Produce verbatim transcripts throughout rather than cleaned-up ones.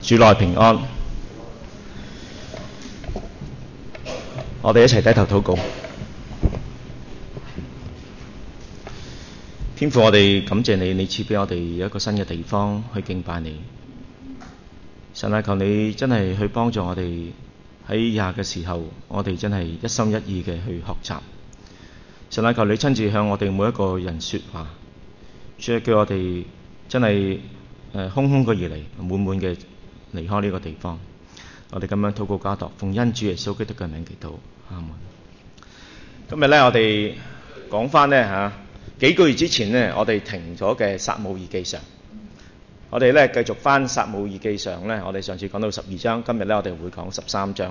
主內平安，我哋一齊低頭禱告。天父，我哋感謝你，你賜俾我哋一個新嘅地方去敬拜你。神啊，求你真係去幫助我哋喺以下嘅時候，我哋真係一心一意嘅去學習。神啊，求你親自向我哋每一個人說話，主啊，叫我哋真係誒空空嘅而嚟，滿滿嘅離開呢個地方。我哋咁樣禱告交託，奉恩主耶穌基督嘅名祈禱，阿門。今日咧，我哋講翻咧嚇幾個月之前咧，我哋停咗嘅撒母耳記上，我哋咧繼續翻撒母耳記上咧。我哋上次講到十二章，今日咧我哋會講十三章。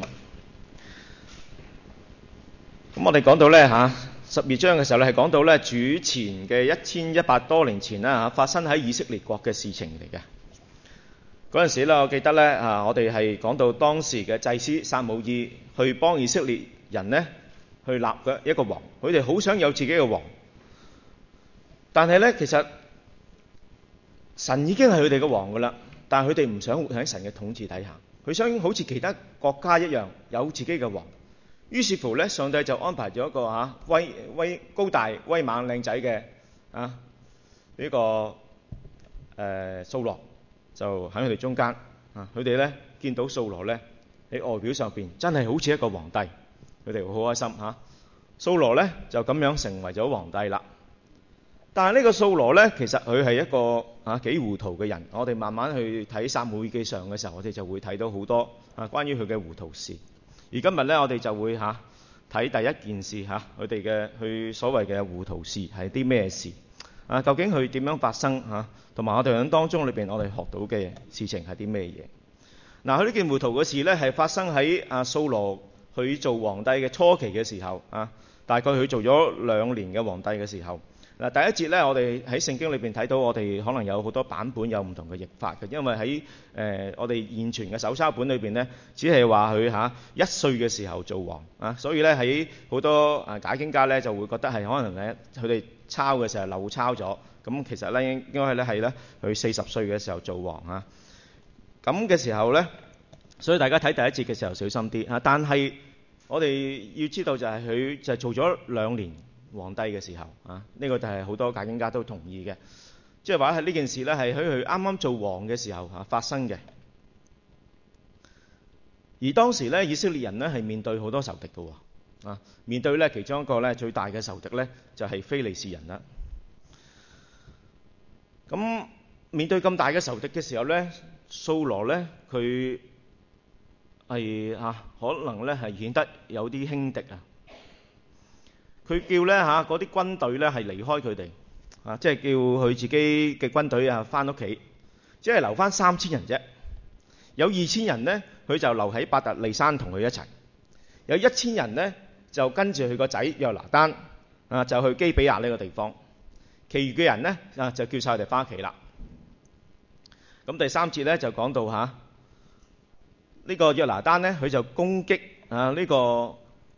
咁我哋講到咧嚇十二章嘅時候咧，係講到咧主前嘅一千一百多年前啦嚇，發生喺以色列國嘅事情嚟嘅。嗰陣時咧，我記得咧啊，我哋係講到當時嘅祭司撒母耳去幫以色列人咧去立嘅一個王，佢哋好想有自己嘅王，但係咧其實神已經係佢哋嘅王噶啦，但係佢哋唔想活喺神嘅統治底下，佢想好似其他國家一樣有自己嘅王。於是乎咧，上帝就安排咗一個嚇威威高大威猛靚仔嘅啊呢個誒掃羅。就喺佢哋中間啊！佢哋咧見到掃羅咧喺外表上邊真係好似一個皇帝，佢哋好開心嚇。掃羅咧就咁樣成為咗皇帝啦。但係呢個掃羅咧，其實佢係一個啊幾糊塗嘅人。我哋慢慢去睇撒母耳記上嘅時候，我哋就會睇到好多啊關於佢嘅糊塗事。而今日咧，我哋就會嚇睇第一件事嚇，佢哋嘅佢所謂嘅糊塗事係啲咩事啊？究竟佢點樣發生嚇？同埋我哋喺當中裏邊，我哋學到嘅事情係啲咩嘢？嗱，佢呢件糊塗嘅事咧，係發生喺阿掃羅佢做皇帝嘅初期嘅時候啊，大概佢做咗兩年嘅皇帝嘅時候。嗱，第一節咧，我哋喺聖經裏邊睇到，我哋可能有好多版本有唔同嘅譯法嘅，因為喺誒、呃、我哋現存嘅手抄本裏邊咧，只係話佢嚇一歲嘅時候做王啊，所以咧喺好多啊解經家咧就會覺得係可能咧佢哋抄嘅時候漏抄咗。咁其實咧應該係咧係咧佢四十歲嘅時候做王啊，咁嘅時候咧，所以大家睇第一節嘅時候小心啲啊。但係我哋要知道就係佢就係做咗兩年皇帝嘅時候啊，呢個就係好多解經家都同意嘅，即係話係呢件事咧係喺佢啱啱做王嘅時候啊發生嘅。而當時咧以色列人咧係面對好多仇敵嘅喎啊，面對咧其中一個咧最大嘅仇敵咧就係非利士人啦。咁面對咁大嘅仇敵嘅時候咧，掃羅咧佢係嚇可能咧係顯得有啲輕敵啊。佢叫咧嚇嗰啲軍隊咧係離開佢哋啊，即係叫佢自己嘅軍隊啊翻屋企，只係留翻三千人啫。有二千人咧，佢就留喺伯特利山同佢一齊；有一千人咧就跟住佢個仔約拿單啊，就去基比亞呢個地方。其餘嘅人咧啊，就叫晒佢哋翻屋企啦。咁第三節咧就講到嚇，呢、這個約拿單咧，佢就攻擊啊呢、這個誒、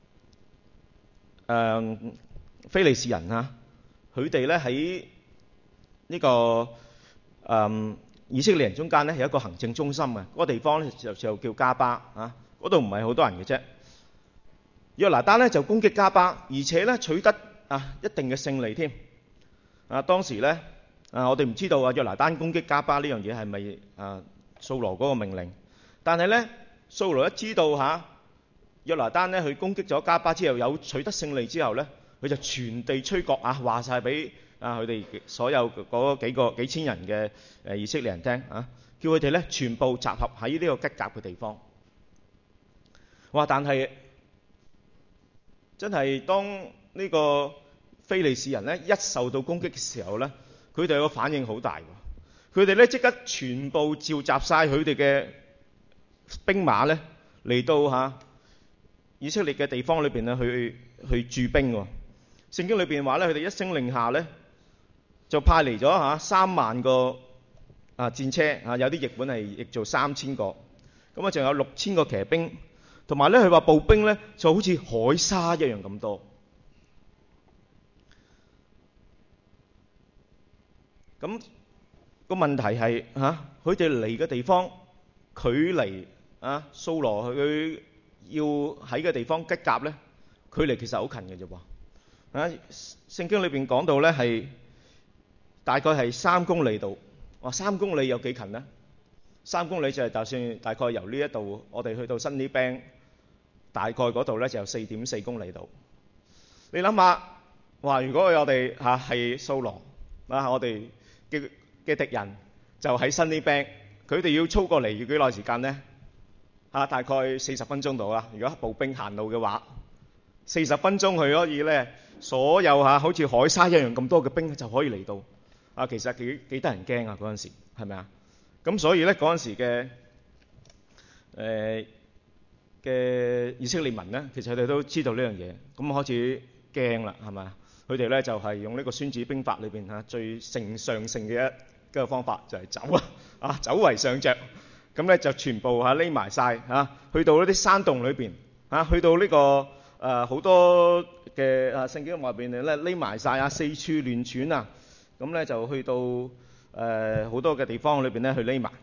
呃、非利士人啊，佢哋咧喺呢個誒、呃、以色列人中間咧有一個行政中心嘅嗰、那個地方咧就就叫加巴啊，嗰度唔係好多人嘅啫。約拿單咧就攻擊加巴，而且咧取得啊一定嘅勝利添。啊，當時咧，啊，我哋唔知道啊，約拿單攻擊加巴呢樣嘢係咪啊掃羅嗰個命令？但係咧，掃羅一知道嚇、啊、約拿單咧去攻擊咗加巴之後，有取得勝利之後咧，佢就全地吹角啊，話晒俾啊佢哋所有嗰幾個幾千人嘅誒以色列人聽啊，叫佢哋咧全部集合喺呢個吉甲嘅地方。哇！但係真係當呢個非利士人咧一受到攻擊嘅時候咧，佢哋個反應好大喎。佢哋咧即刻全部召集晒佢哋嘅兵馬咧嚟到嚇以色列嘅地方裏邊咧去去駐兵喎。聖經裏邊話咧，佢哋一聲令下咧，就派嚟咗嚇三萬個啊戰車啊，有啲譯本係譯做三千個，咁啊仲有六千個騎兵，同埋咧佢話步兵咧就好似海沙一樣咁多。咁個問題係嚇，佢哋嚟嘅地方距離啊掃羅佢要喺嘅地方吉甲咧，距離其實好近嘅啫喎。啊，聖經裏邊講到咧係大概係三公里度。哇，三公里有幾近咧？三公里就係就算大概由呢一度我哋去到新呢餅，大概嗰度咧就有四點四公里度。你諗下，哇！如果我哋嚇係掃羅啊，我哋嘅嘅敵人就喺新呢餅，佢哋要操過嚟要幾耐時間咧？嚇，大概四十分鐘到啦。如果步兵行路嘅話，四十分鐘佢可以咧，所有嚇好似海沙一樣咁多嘅兵就可以嚟到。啊，其實幾幾得人驚啊！嗰陣時係咪啊？咁所以咧嗰陣時嘅誒嘅以色列民咧，其實佢哋都知道呢樣嘢，咁開始驚啦，係咪啊？佢哋咧就係用呢個孫子兵法裏邊嚇最乘上乘嘅一個方法，就係走啊！啊，走為上着，咁咧就全部嚇匿埋晒嚇，去到一啲山洞裏邊嚇，去到呢個誒好多嘅啊聖經外邊咧匿埋晒啊，四處亂竄啊！咁咧就去到誒好多嘅地方裏邊咧去匿埋，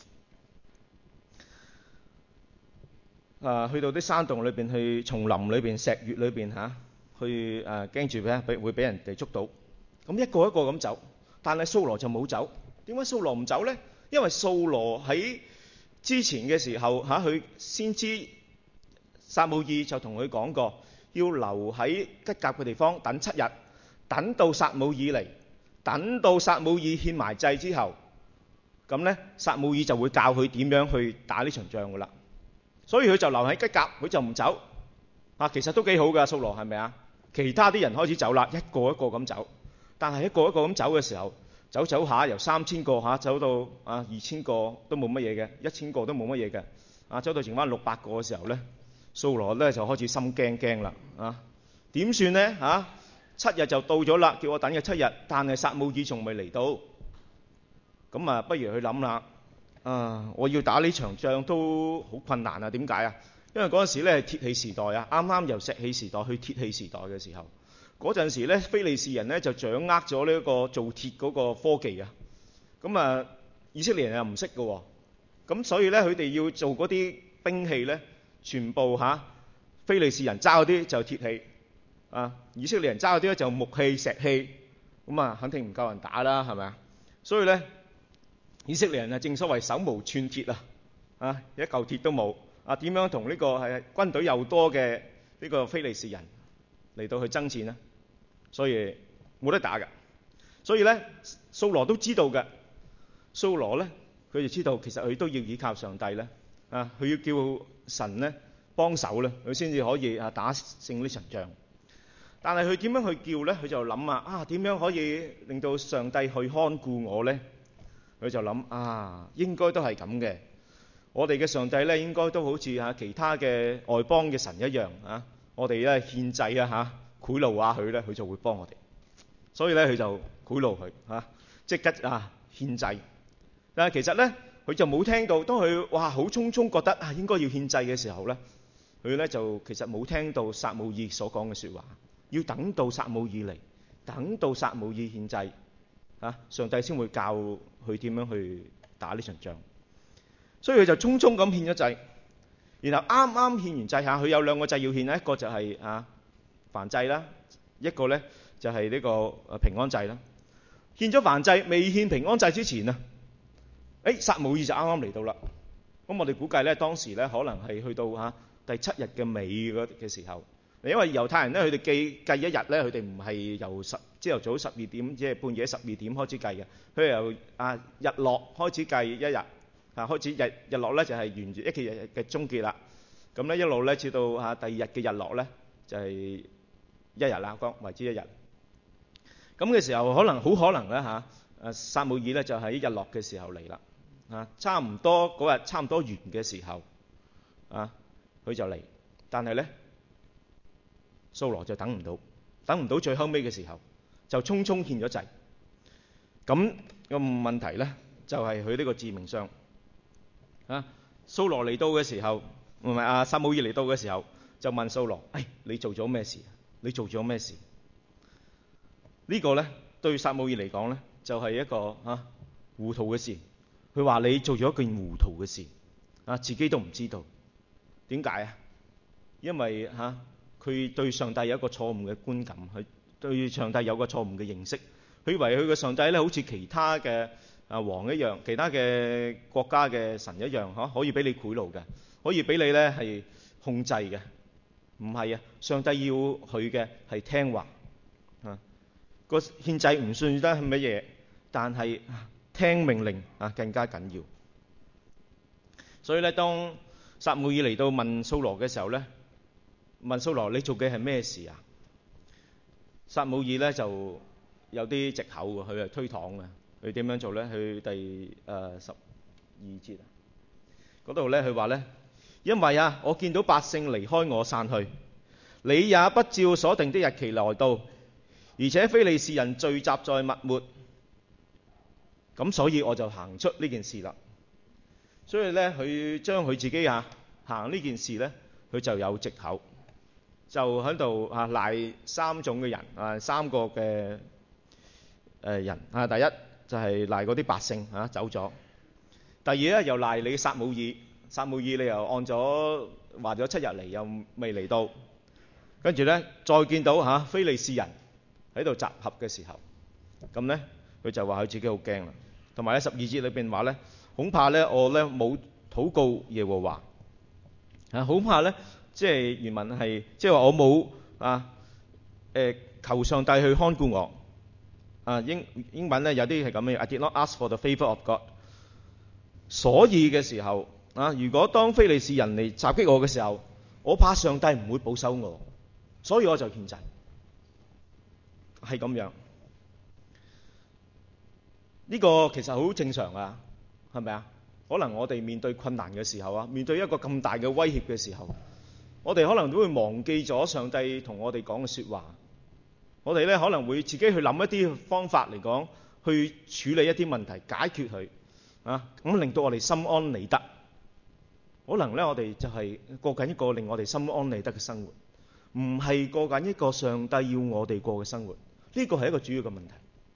啊去到啲山洞裏邊、去叢林裏邊、石穴裏邊嚇，去誒驚住咧俾會俾人哋捉到。咁一個一個咁走，但係掃羅就冇走。點解掃羅唔走咧？因為掃羅喺之前嘅時候嚇，佢先知撒母耳就同佢講過，要留喺吉甲嘅地方等七日，等到撒母耳嚟。等到撒母耳獻埋祭之後，咁呢撒母耳就會教佢點樣去打呢場仗噶啦。所以佢就留喺吉甲，佢就唔走。啊，其實都幾好噶，掃羅係咪啊？其他啲人開始走啦，一個一個咁走。但係一個一個咁走嘅時候，走走下由三千個嚇走到啊二千個都冇乜嘢嘅，一千個都冇乜嘢嘅。啊，走到剩翻六百個嘅時候呢，掃羅呢就開始心驚驚啦。啊，點算呢？嚇、啊？七日就到咗啦，叫我等嘅七日，但係撒母耳仲未嚟到，咁啊，不如去諗啦。啊，我要打呢場仗都好困難啊！點解啊？因為嗰陣時咧係鐵器時代啊，啱啱由石器時代去鐵器時代嘅時候，嗰陣時咧非利士人咧就掌握咗呢一個做鐵嗰個科技啊。咁啊，以色列人又唔識嘅喎，咁所以咧佢哋要做嗰啲兵器咧，全部嚇非利士人揸嗰啲就鐵器。啊！以色列人揸嗰啲咧就木器、石器，咁啊肯定唔夠人打啦，係咪啊？所以咧，以色列人啊正所謂手無寸鐵啊，啊一嚿鐵都冇啊！點樣同呢個係軍隊又多嘅呢個非利士人嚟到去爭戰呢？所以冇得打㗎。所以咧，掃羅都知道嘅。掃羅咧，佢就知道其實佢都要依靠上帝咧，啊佢要叫神咧幫手咧，佢先至可以啊打勝呢場仗。但係佢點樣去叫呢？佢就諗啊，啊點樣可以令到上帝去看顧我呢？佢就諗啊，應該都係咁嘅。我哋嘅上帝呢，應該都好似嚇其他嘅外邦嘅神一樣啊。我哋咧獻祭啊嚇，賄賂下佢呢，佢就會幫我哋。所以呢，佢就賄賂佢嚇，即刻啊獻祭。但係其實呢，佢就冇聽到。當佢哇好匆匆覺得啊應該要獻祭嘅時候呢，佢呢就其實冇聽到撒母耳所講嘅説話。要等到撒母耳嚟，等到撒母耳獻祭，啊，上帝先會教佢點樣去打呢場仗。所以佢就匆匆咁獻咗祭，然後啱啱獻完祭下，佢有兩個祭要獻，一個就係啊燔祭啦，一個咧就係呢個誒平安祭啦。獻咗燔祭，未獻平安祭之前啊，誒撒母耳就啱啱嚟到啦。咁我哋估計咧，當時咧可能係去到嚇第七日嘅尾嗰嘅時候。因為猶太人咧，佢哋計計一日咧，佢哋唔係由十朝頭早十二點，即係半夜十二點開始計嘅。佢係由啊日落開始計一日，啊開始日日落咧就係沿住一個日嘅終結啦。咁咧一路咧至到啊第二日嘅日落咧就係一日啦，講為之一日。咁嘅時候可能好可能咧嚇，誒撒母耳咧就喺日落嘅時候嚟啦，啊差唔多嗰日差唔多完嘅時候，啊佢就嚟，但係咧。掃羅就等唔到，等唔到最後尾嘅時候，就匆匆獻咗祭。咁個問題呢，就係佢呢個致命傷。啊，掃羅嚟到嘅時候，唔係啊，撒母耳嚟到嘅時候，就問掃羅：，誒，你做咗咩事？你做咗咩事？呢、這個呢，對撒母耳嚟講呢，就係、是、一個啊糊塗嘅事。佢話你做咗一件糊塗嘅事。 啊，自己都唔知道點解啊？因為嚇佢、啊、對上帝有一個錯誤嘅觀感，佢對上帝有個錯誤嘅認識，佢以為佢嘅上帝咧好似其他嘅啊王一樣，其他嘅國家嘅神一樣，嚇、啊、可以俾你賄賂嘅，可以俾你咧係控制嘅。唔係啊，上帝要佢嘅係聽話啊。個獻祭唔算得係乜嘢，但係聽命令啊更加緊要。所以咧，當撒母耳嚟到問掃羅嘅時候咧，問掃羅你做嘅係咩事啊？撒母耳咧就有啲藉口喎，佢係推搪嘅。佢點樣做咧？去第誒、呃、十二節啊，嗰度咧佢話咧，因為啊，我見到百姓離開我散去，你也不照所定的日期來到，而且非利士人聚集在密抹，咁所以我就行出呢件事啦。所以咧，佢將佢自己啊行呢件事咧，佢就有藉口，就喺度啊賴三種嘅人啊，三個嘅誒人啊。第一就係賴嗰啲百姓啊走咗，第二咧又賴你撒母耳，撒母耳你又按咗話咗七日嚟又未嚟到，跟住咧再見到嚇非利士人喺度集合嘅時候，咁咧佢就話佢自己好驚啦。同埋咧十二節裏邊話咧，恐怕咧我咧冇禱告耶和華啊，恐怕咧即係原文係即係話我冇啊誒求上帝去看顧我啊。英英文咧有啲係咁嘅 ，I did not ask for the favour of God。所以嘅時候啊，如果當非利士人嚟襲擊我嘅時候，我怕上帝唔會保守我，所以我就獻祭，係咁樣。呢個其實好正常啊，係咪啊？可能我哋面對困難嘅時候啊，面對一個咁大嘅威脅嘅時候，我哋可能都會忘記咗上帝同我哋講嘅説話。我哋咧可能會自己去諗一啲方法嚟講，去處理一啲問題，解決佢啊，咁令到我哋心安理得。可能咧我哋就係過緊一個令我哋心安理得嘅生活，唔係過緊一個上帝要我哋過嘅生活。呢個係一個主要嘅問題。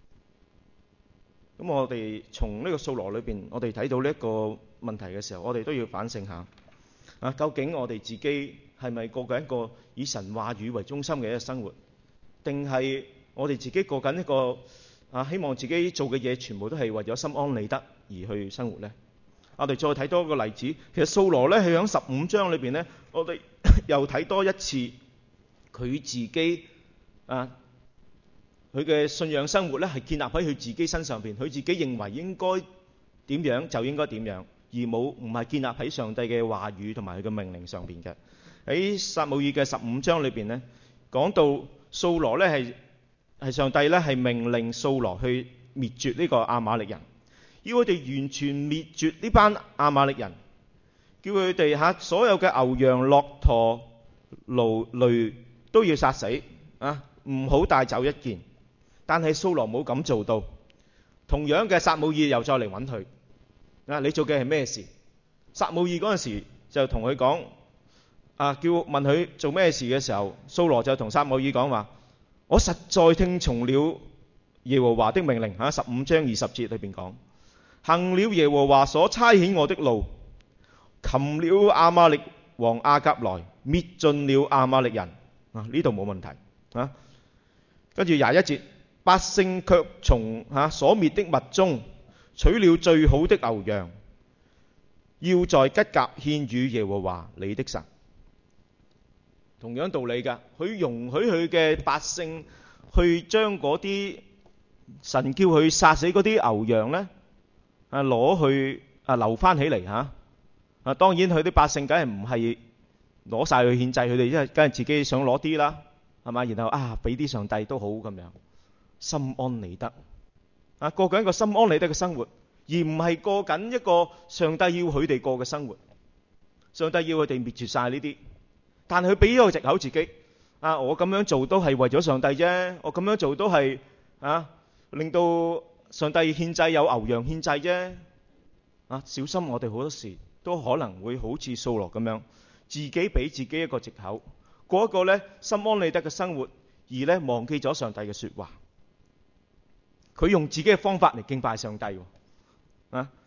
咁我哋從呢個掃羅裏邊，我哋睇到呢一個問題嘅時候，我哋都要反省下啊，究竟我哋自己係咪過緊一個以神話語為中心嘅一個生活，定係我哋自己過緊一個啊希望自己做嘅嘢全部都係為咗心安理得而去生活呢？我哋再睇多一個例子，其實掃羅咧係喺十五章裏邊呢，我哋又睇多一次佢自己啊。佢嘅信仰生活咧係建立喺佢自己身上邊，佢自己認為應該點樣就應該點樣，而冇唔係建立喺上帝嘅話語同埋佢嘅命令上邊嘅。喺撒母耳嘅十五章裏邊咧，講到掃羅咧係係上帝咧係命令掃羅去滅絕呢個亞瑪力人，要佢哋完全滅絕呢班亞瑪力人，叫佢哋嚇所有嘅牛羊駱駝驢驢都要殺死啊，唔好帶走一件。但係掃羅冇咁做到，同樣嘅撒母耳又再嚟揾佢啊！你做嘅係咩事？撒母耳嗰陣時就同佢講啊，叫問佢做咩事嘅時候，掃羅就同撒母耳講話：我實在聽從了耶和華的命令嚇。十五章二十節裏邊講，行了耶和華所差遣我的路，擒了亞瑪力王亞甲來，滅盡了亞瑪力人啊！呢度冇問題啊。跟住廿一節。百姓卻從嚇所滅的物中取了最好的牛羊，要在吉甲獻與耶和華你的神。同樣道理㗎，佢容許佢嘅百姓去將嗰啲神叫佢殺死嗰啲牛羊呢，啊攞去啊留翻起嚟嚇。啊當然佢啲百姓梗係唔係攞晒去獻祭，佢哋因為梗係自己想攞啲啦，係嘛？然後啊俾啲上帝都好咁樣。心安理得啊，過緊一個心安理得嘅生活，而唔係過緊一個上帝要佢哋過嘅生活。上帝要佢哋滅絕晒呢啲，但係佢俾咗個藉口自己啊，我咁樣做都係為咗上帝啫，我咁樣做都係啊令到上帝獻祭有牛羊獻祭啫啊！小心我哋好多時都可能會好似掃羅咁樣，自己俾自己一個藉口，過一個咧心安理得嘅生活，而咧忘記咗上帝嘅說話。佢用自己嘅方法嚟敬拜上帝喎啊！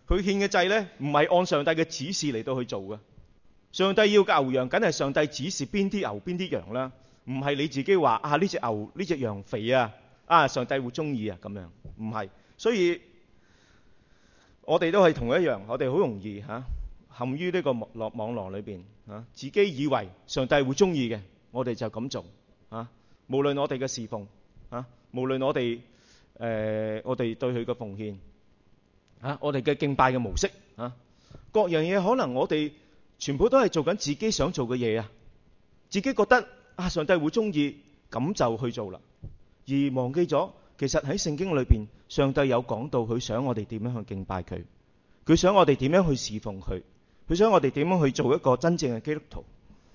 佢獻嘅祭呢，唔係按上帝嘅指示嚟到去做嘅。上帝要牛羊，梗係上帝指示邊啲牛邊啲羊啦，唔係你自己話啊呢隻牛呢隻羊肥啊，啊上帝會中意啊咁樣，唔係。所以我哋都係同一樣，我哋好容易嚇、啊、陷於呢個網絡網絡裏邊嚇，自己以為上帝會中意嘅，我哋就咁做嚇、啊。無論我哋嘅侍奉嚇、啊，無論我哋誒、呃、我哋對佢嘅奉獻嚇、啊，我哋嘅敬拜嘅模式嚇、啊，各樣嘢可能我哋全部都係做緊自己想做嘅嘢啊！自己覺得啊，上帝會中意，咁就去做啦，而忘記咗其實喺聖經裏邊，上帝有講到佢想我哋點樣去敬拜佢，佢想我哋點樣去侍奉佢，佢想我哋點樣去做一個真正嘅基督徒。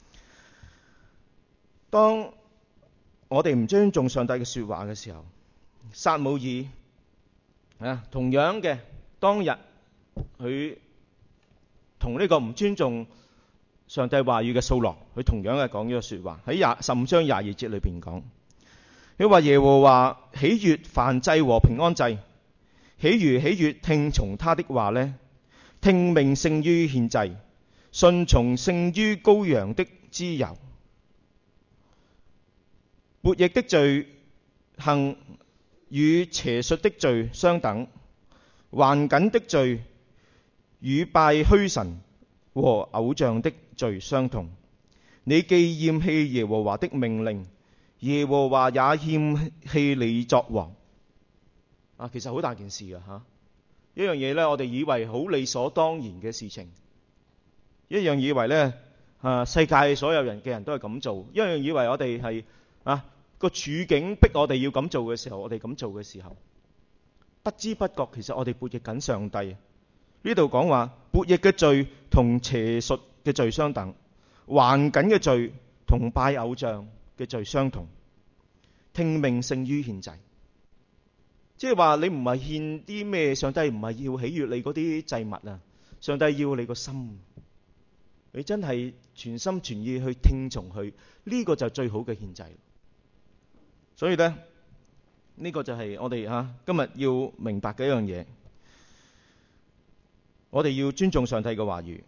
當我哋唔尊重上帝嘅說話嘅時候，撒母耳啊，同樣嘅當日佢同呢個唔尊重上帝話語嘅掃羅，佢同樣係講咗個說話，喺廿十五章廿二節裏邊講，佢話耶和華喜悅燔祭和平安祭，豈如喜悅聽從他的話呢？聽命勝於獻祭，順從勝於羔羊的脂油。悖逆的罪行與邪術的罪相等，頑梗的罪與拜虛神和偶像的罪相同。你既厭棄耶和華的命令，耶和華也厭棄你作王。啊，其實好大件事㗎吓，一樣嘢呢，我哋以為好理所當然嘅事情，一樣以為呢，啊，世界所有人嘅人都係咁做，一樣以為我哋係啊個處境逼我哋要咁做嘅時候，我哋咁做嘅時候，不知不覺其實我哋悖逆緊上帝。呢度講話悖逆嘅罪同邪術嘅罪相等，頑梗嘅罪同拜偶像嘅罪相同，聽命勝於獻祭。即係話你唔係獻啲咩，上帝唔係要喜悅你嗰啲祭物啊，上帝要你個心，你真係全心全意去聽從佢，呢個就最好嘅獻祭。所以呢，呢個就係我哋吓今日要明白嘅一樣嘢。我哋要尊重上帝嘅話語，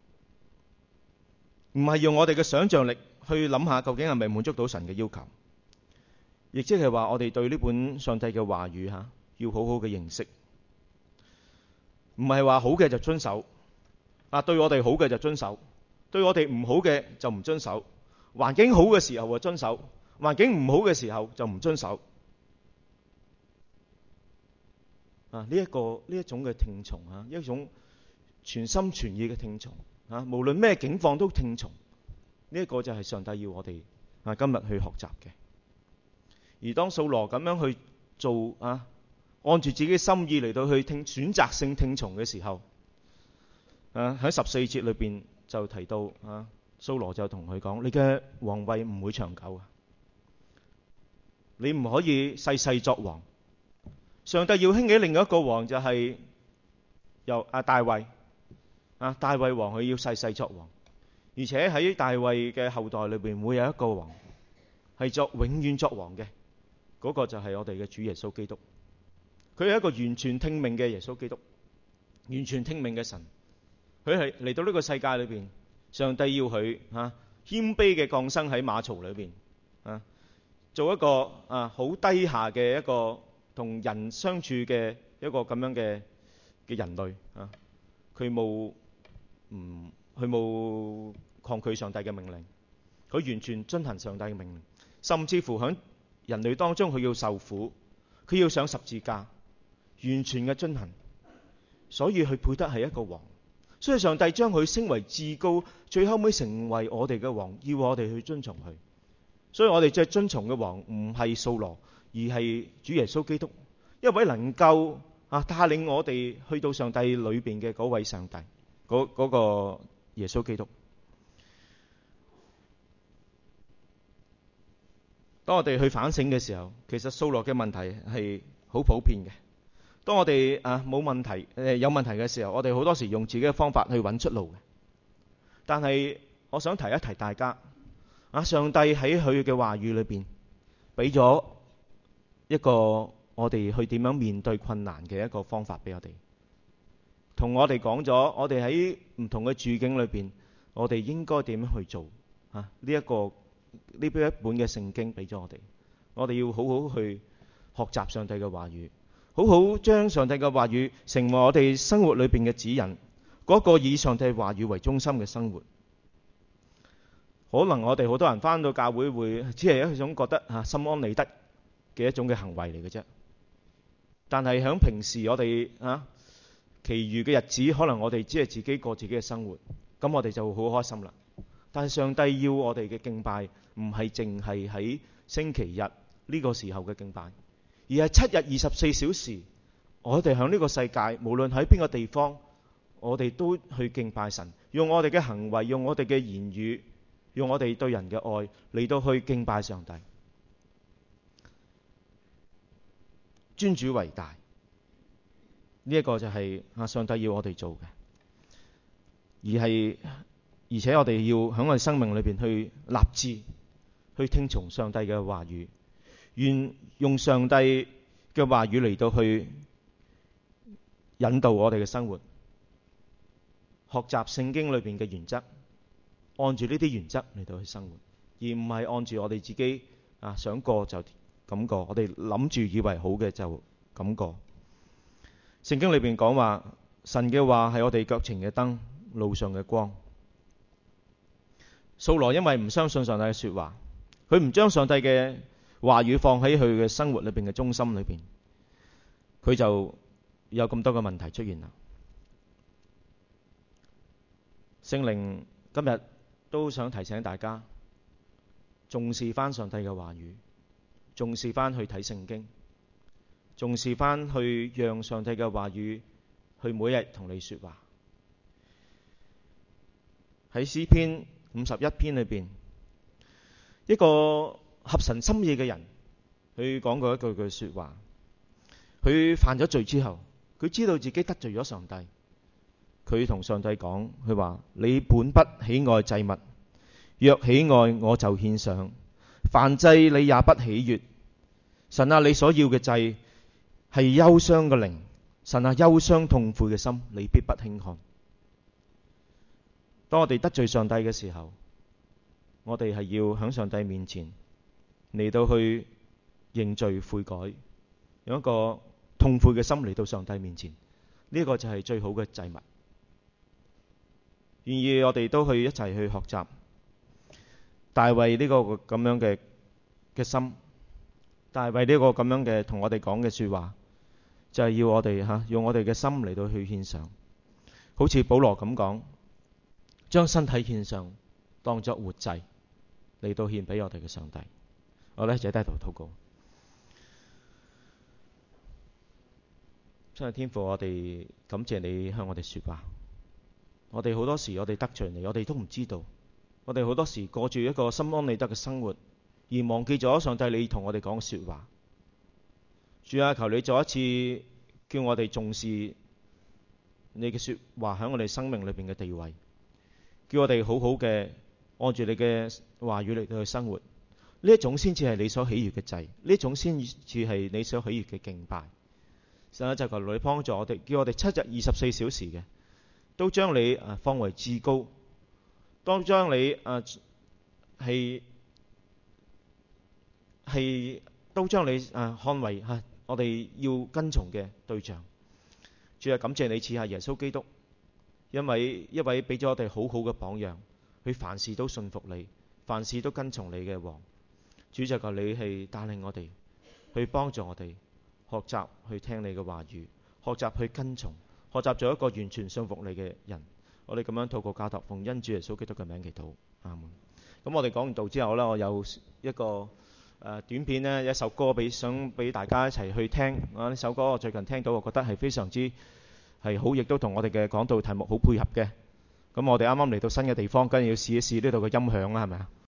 唔係用我哋嘅想像力去諗下究竟係咪滿足到神嘅要求，亦即係話我哋對呢本上帝嘅話語吓要好好嘅認識，唔係話好嘅就遵守，啊對我哋好嘅就遵守，對我哋唔好嘅就唔遵守，環境好嘅時候就遵守，環境唔好嘅時候就唔遵守。啊呢一個呢一種嘅聽從啊，一種全心全意嘅聽從啊，無論咩境況都聽從，呢一個就係上帝要我哋啊今日去學習嘅。而當掃羅咁樣去做啊，按住自己心意嚟到去聽選擇性聽從嘅時候，啊喺十四節裏邊就提到啊，掃羅就同佢講：你嘅皇位唔會長久啊，你唔可以世世作王。上帝要興起另一個王，就係由啊大衛。啊，大衛王佢要世世作王，而且喺大衛嘅後代裏邊會有一個王係作永遠作王嘅，嗰、那個就係我哋嘅主耶穌基督。佢係一個完全聽命嘅耶穌基督，完全聽命嘅神。佢係嚟到呢個世界裏邊，上帝要佢啊謙卑嘅降生喺馬槽裏邊啊，做一個啊好低下嘅一個同人相處嘅一個咁樣嘅嘅人類啊，佢冇。唔，佢冇抗拒上帝嘅命令，佢完全遵行上帝嘅命令，甚至乎喺人類當中佢要受苦，佢要上十字架，完全嘅遵行，所以佢配得係一個王。所以上帝將佢升為至高，最後尾成為我哋嘅王，要我哋去遵從佢。所以我哋即係遵從嘅王唔係掃羅，而係主耶穌基督，一位能夠啊帶領我哋去到上帝裏邊嘅嗰位上帝。嗰、那個耶穌基督。當我哋去反省嘅時候，其實掃羅嘅問題係好普遍嘅。當我哋啊冇問題誒有問題嘅時候，我哋好多時用自己嘅方法去揾出路嘅。但係我想提一提大家，啊上帝喺佢嘅話語裏邊俾咗一個我哋去點樣面對困難嘅一個方法俾我哋。 同我哋講咗，我哋喺唔同嘅處境裏邊，我哋應該點樣去做啊？呢一個呢邊一本嘅聖經俾咗我哋，我哋要好好去學習上帝嘅話語，好好將上帝嘅話語成為我哋生活裏邊嘅指引，嗰個以上帝話語為中心嘅生活。可能我哋好多人返到教會會只係一種覺得啊心安理得嘅一種嘅行為嚟嘅啫，但係喺平時我哋啊其餘嘅日子，可能我哋只係自己過自己嘅生活，咁我哋就好開心啦。但係上帝要我哋嘅敬拜唔係淨係喺星期日呢個時候嘅敬拜，而係七日二十四小時，我哋喺呢個世界無論喺邊個地方，我哋都去敬拜神，用我哋嘅行為，用我哋嘅言語，用我哋對人嘅愛嚟到去敬拜上帝。尊主為大，呢一個就係啊上帝要我哋做嘅，而係而且我哋要喺我哋生命裏邊去立志去聽從上帝嘅話語，願用上帝嘅話語嚟到去引導我哋嘅生活，學習聖經裏邊嘅原則，按住呢啲原則嚟到去生活，而唔係按住我哋自己啊想過就咁過，我哋諗住以為好嘅就咁過。聖經裏邊講話，神嘅話係我哋腳前嘅燈，路上嘅光。掃羅因為唔相信上帝嘅說話，佢唔將上帝嘅話語放喺佢嘅生活裏邊嘅中心裏邊，佢就有咁多嘅問題出現啦。聖靈今日都想提醒大家，重視翻上帝嘅話語，重視翻去睇聖經，重視翻去讓上帝嘅話語去每日同你說話。喺詩篇五十一篇裏邊，一個合神心意嘅人，佢講過一句句說話。佢犯咗罪之後，佢知道自己得罪咗上帝，佢同上帝講，佢話：你本不喜愛祭物，若喜愛，我就獻上。燔祭你也不喜悅。神啊，你所要嘅祭係憂傷嘅靈，神啊，憂傷痛悔嘅心，你必不輕看。當我哋得罪上帝嘅時候，我哋係要喺上帝面前嚟到去認罪悔改，用一個痛悔嘅心嚟到上帝面前，呢、這個就係最好嘅祭物。願意我哋都去一齊去學習大衛呢個咁樣嘅嘅心，大衛呢個咁樣嘅同我哋講嘅說話，就係、是、要我哋吓、啊、用我哋嘅心嚟到去獻上，好似保羅咁講，將身體獻上，當作活祭嚟到獻俾我哋嘅上帝。我呢就低頭禱告。真係天父，我哋感謝你向我哋說話。我哋好多時我哋得罪你，我哋都唔知道。我哋好多時過住一個心安理得嘅生活，而忘記咗上帝你同我哋講說話。主啊，求你再一次叫我哋重視你嘅說話喺我哋生命裏邊嘅地位，叫我哋好好嘅按住你嘅話語嚟到去生活。呢一種先至係你所喜悅嘅祭，呢一種先至係你所喜悅嘅敬拜。神啊，就求你幫助我哋，叫我哋七日二十四小時嘅都將你啊放為至高，當將你啊係係都將你啊看為啊我哋要跟從嘅對象。主啊，感謝你賜下耶穌基督，因為一位俾咗我哋好好嘅榜樣，佢凡事都信服你，凡事都跟從你嘅王。主就求你係帶領我哋，去幫助我哋學習去聽你嘅話語，學習去跟從，學習做一個完全信服你嘅人。我哋咁樣禱告交託，奉恩主耶穌基督嘅名祈禱，阿門。咁我哋講完道之後呢，我有一個誒、呃、短片呢，一首歌俾想俾大家一齊去聽。啊，呢首歌我最近聽到，我覺得係非常之係好，亦都同我哋嘅講道題目好配合嘅。咁我哋啱啱嚟到新嘅地方，梗係要試一試呢度嘅音響啦，係咪啊？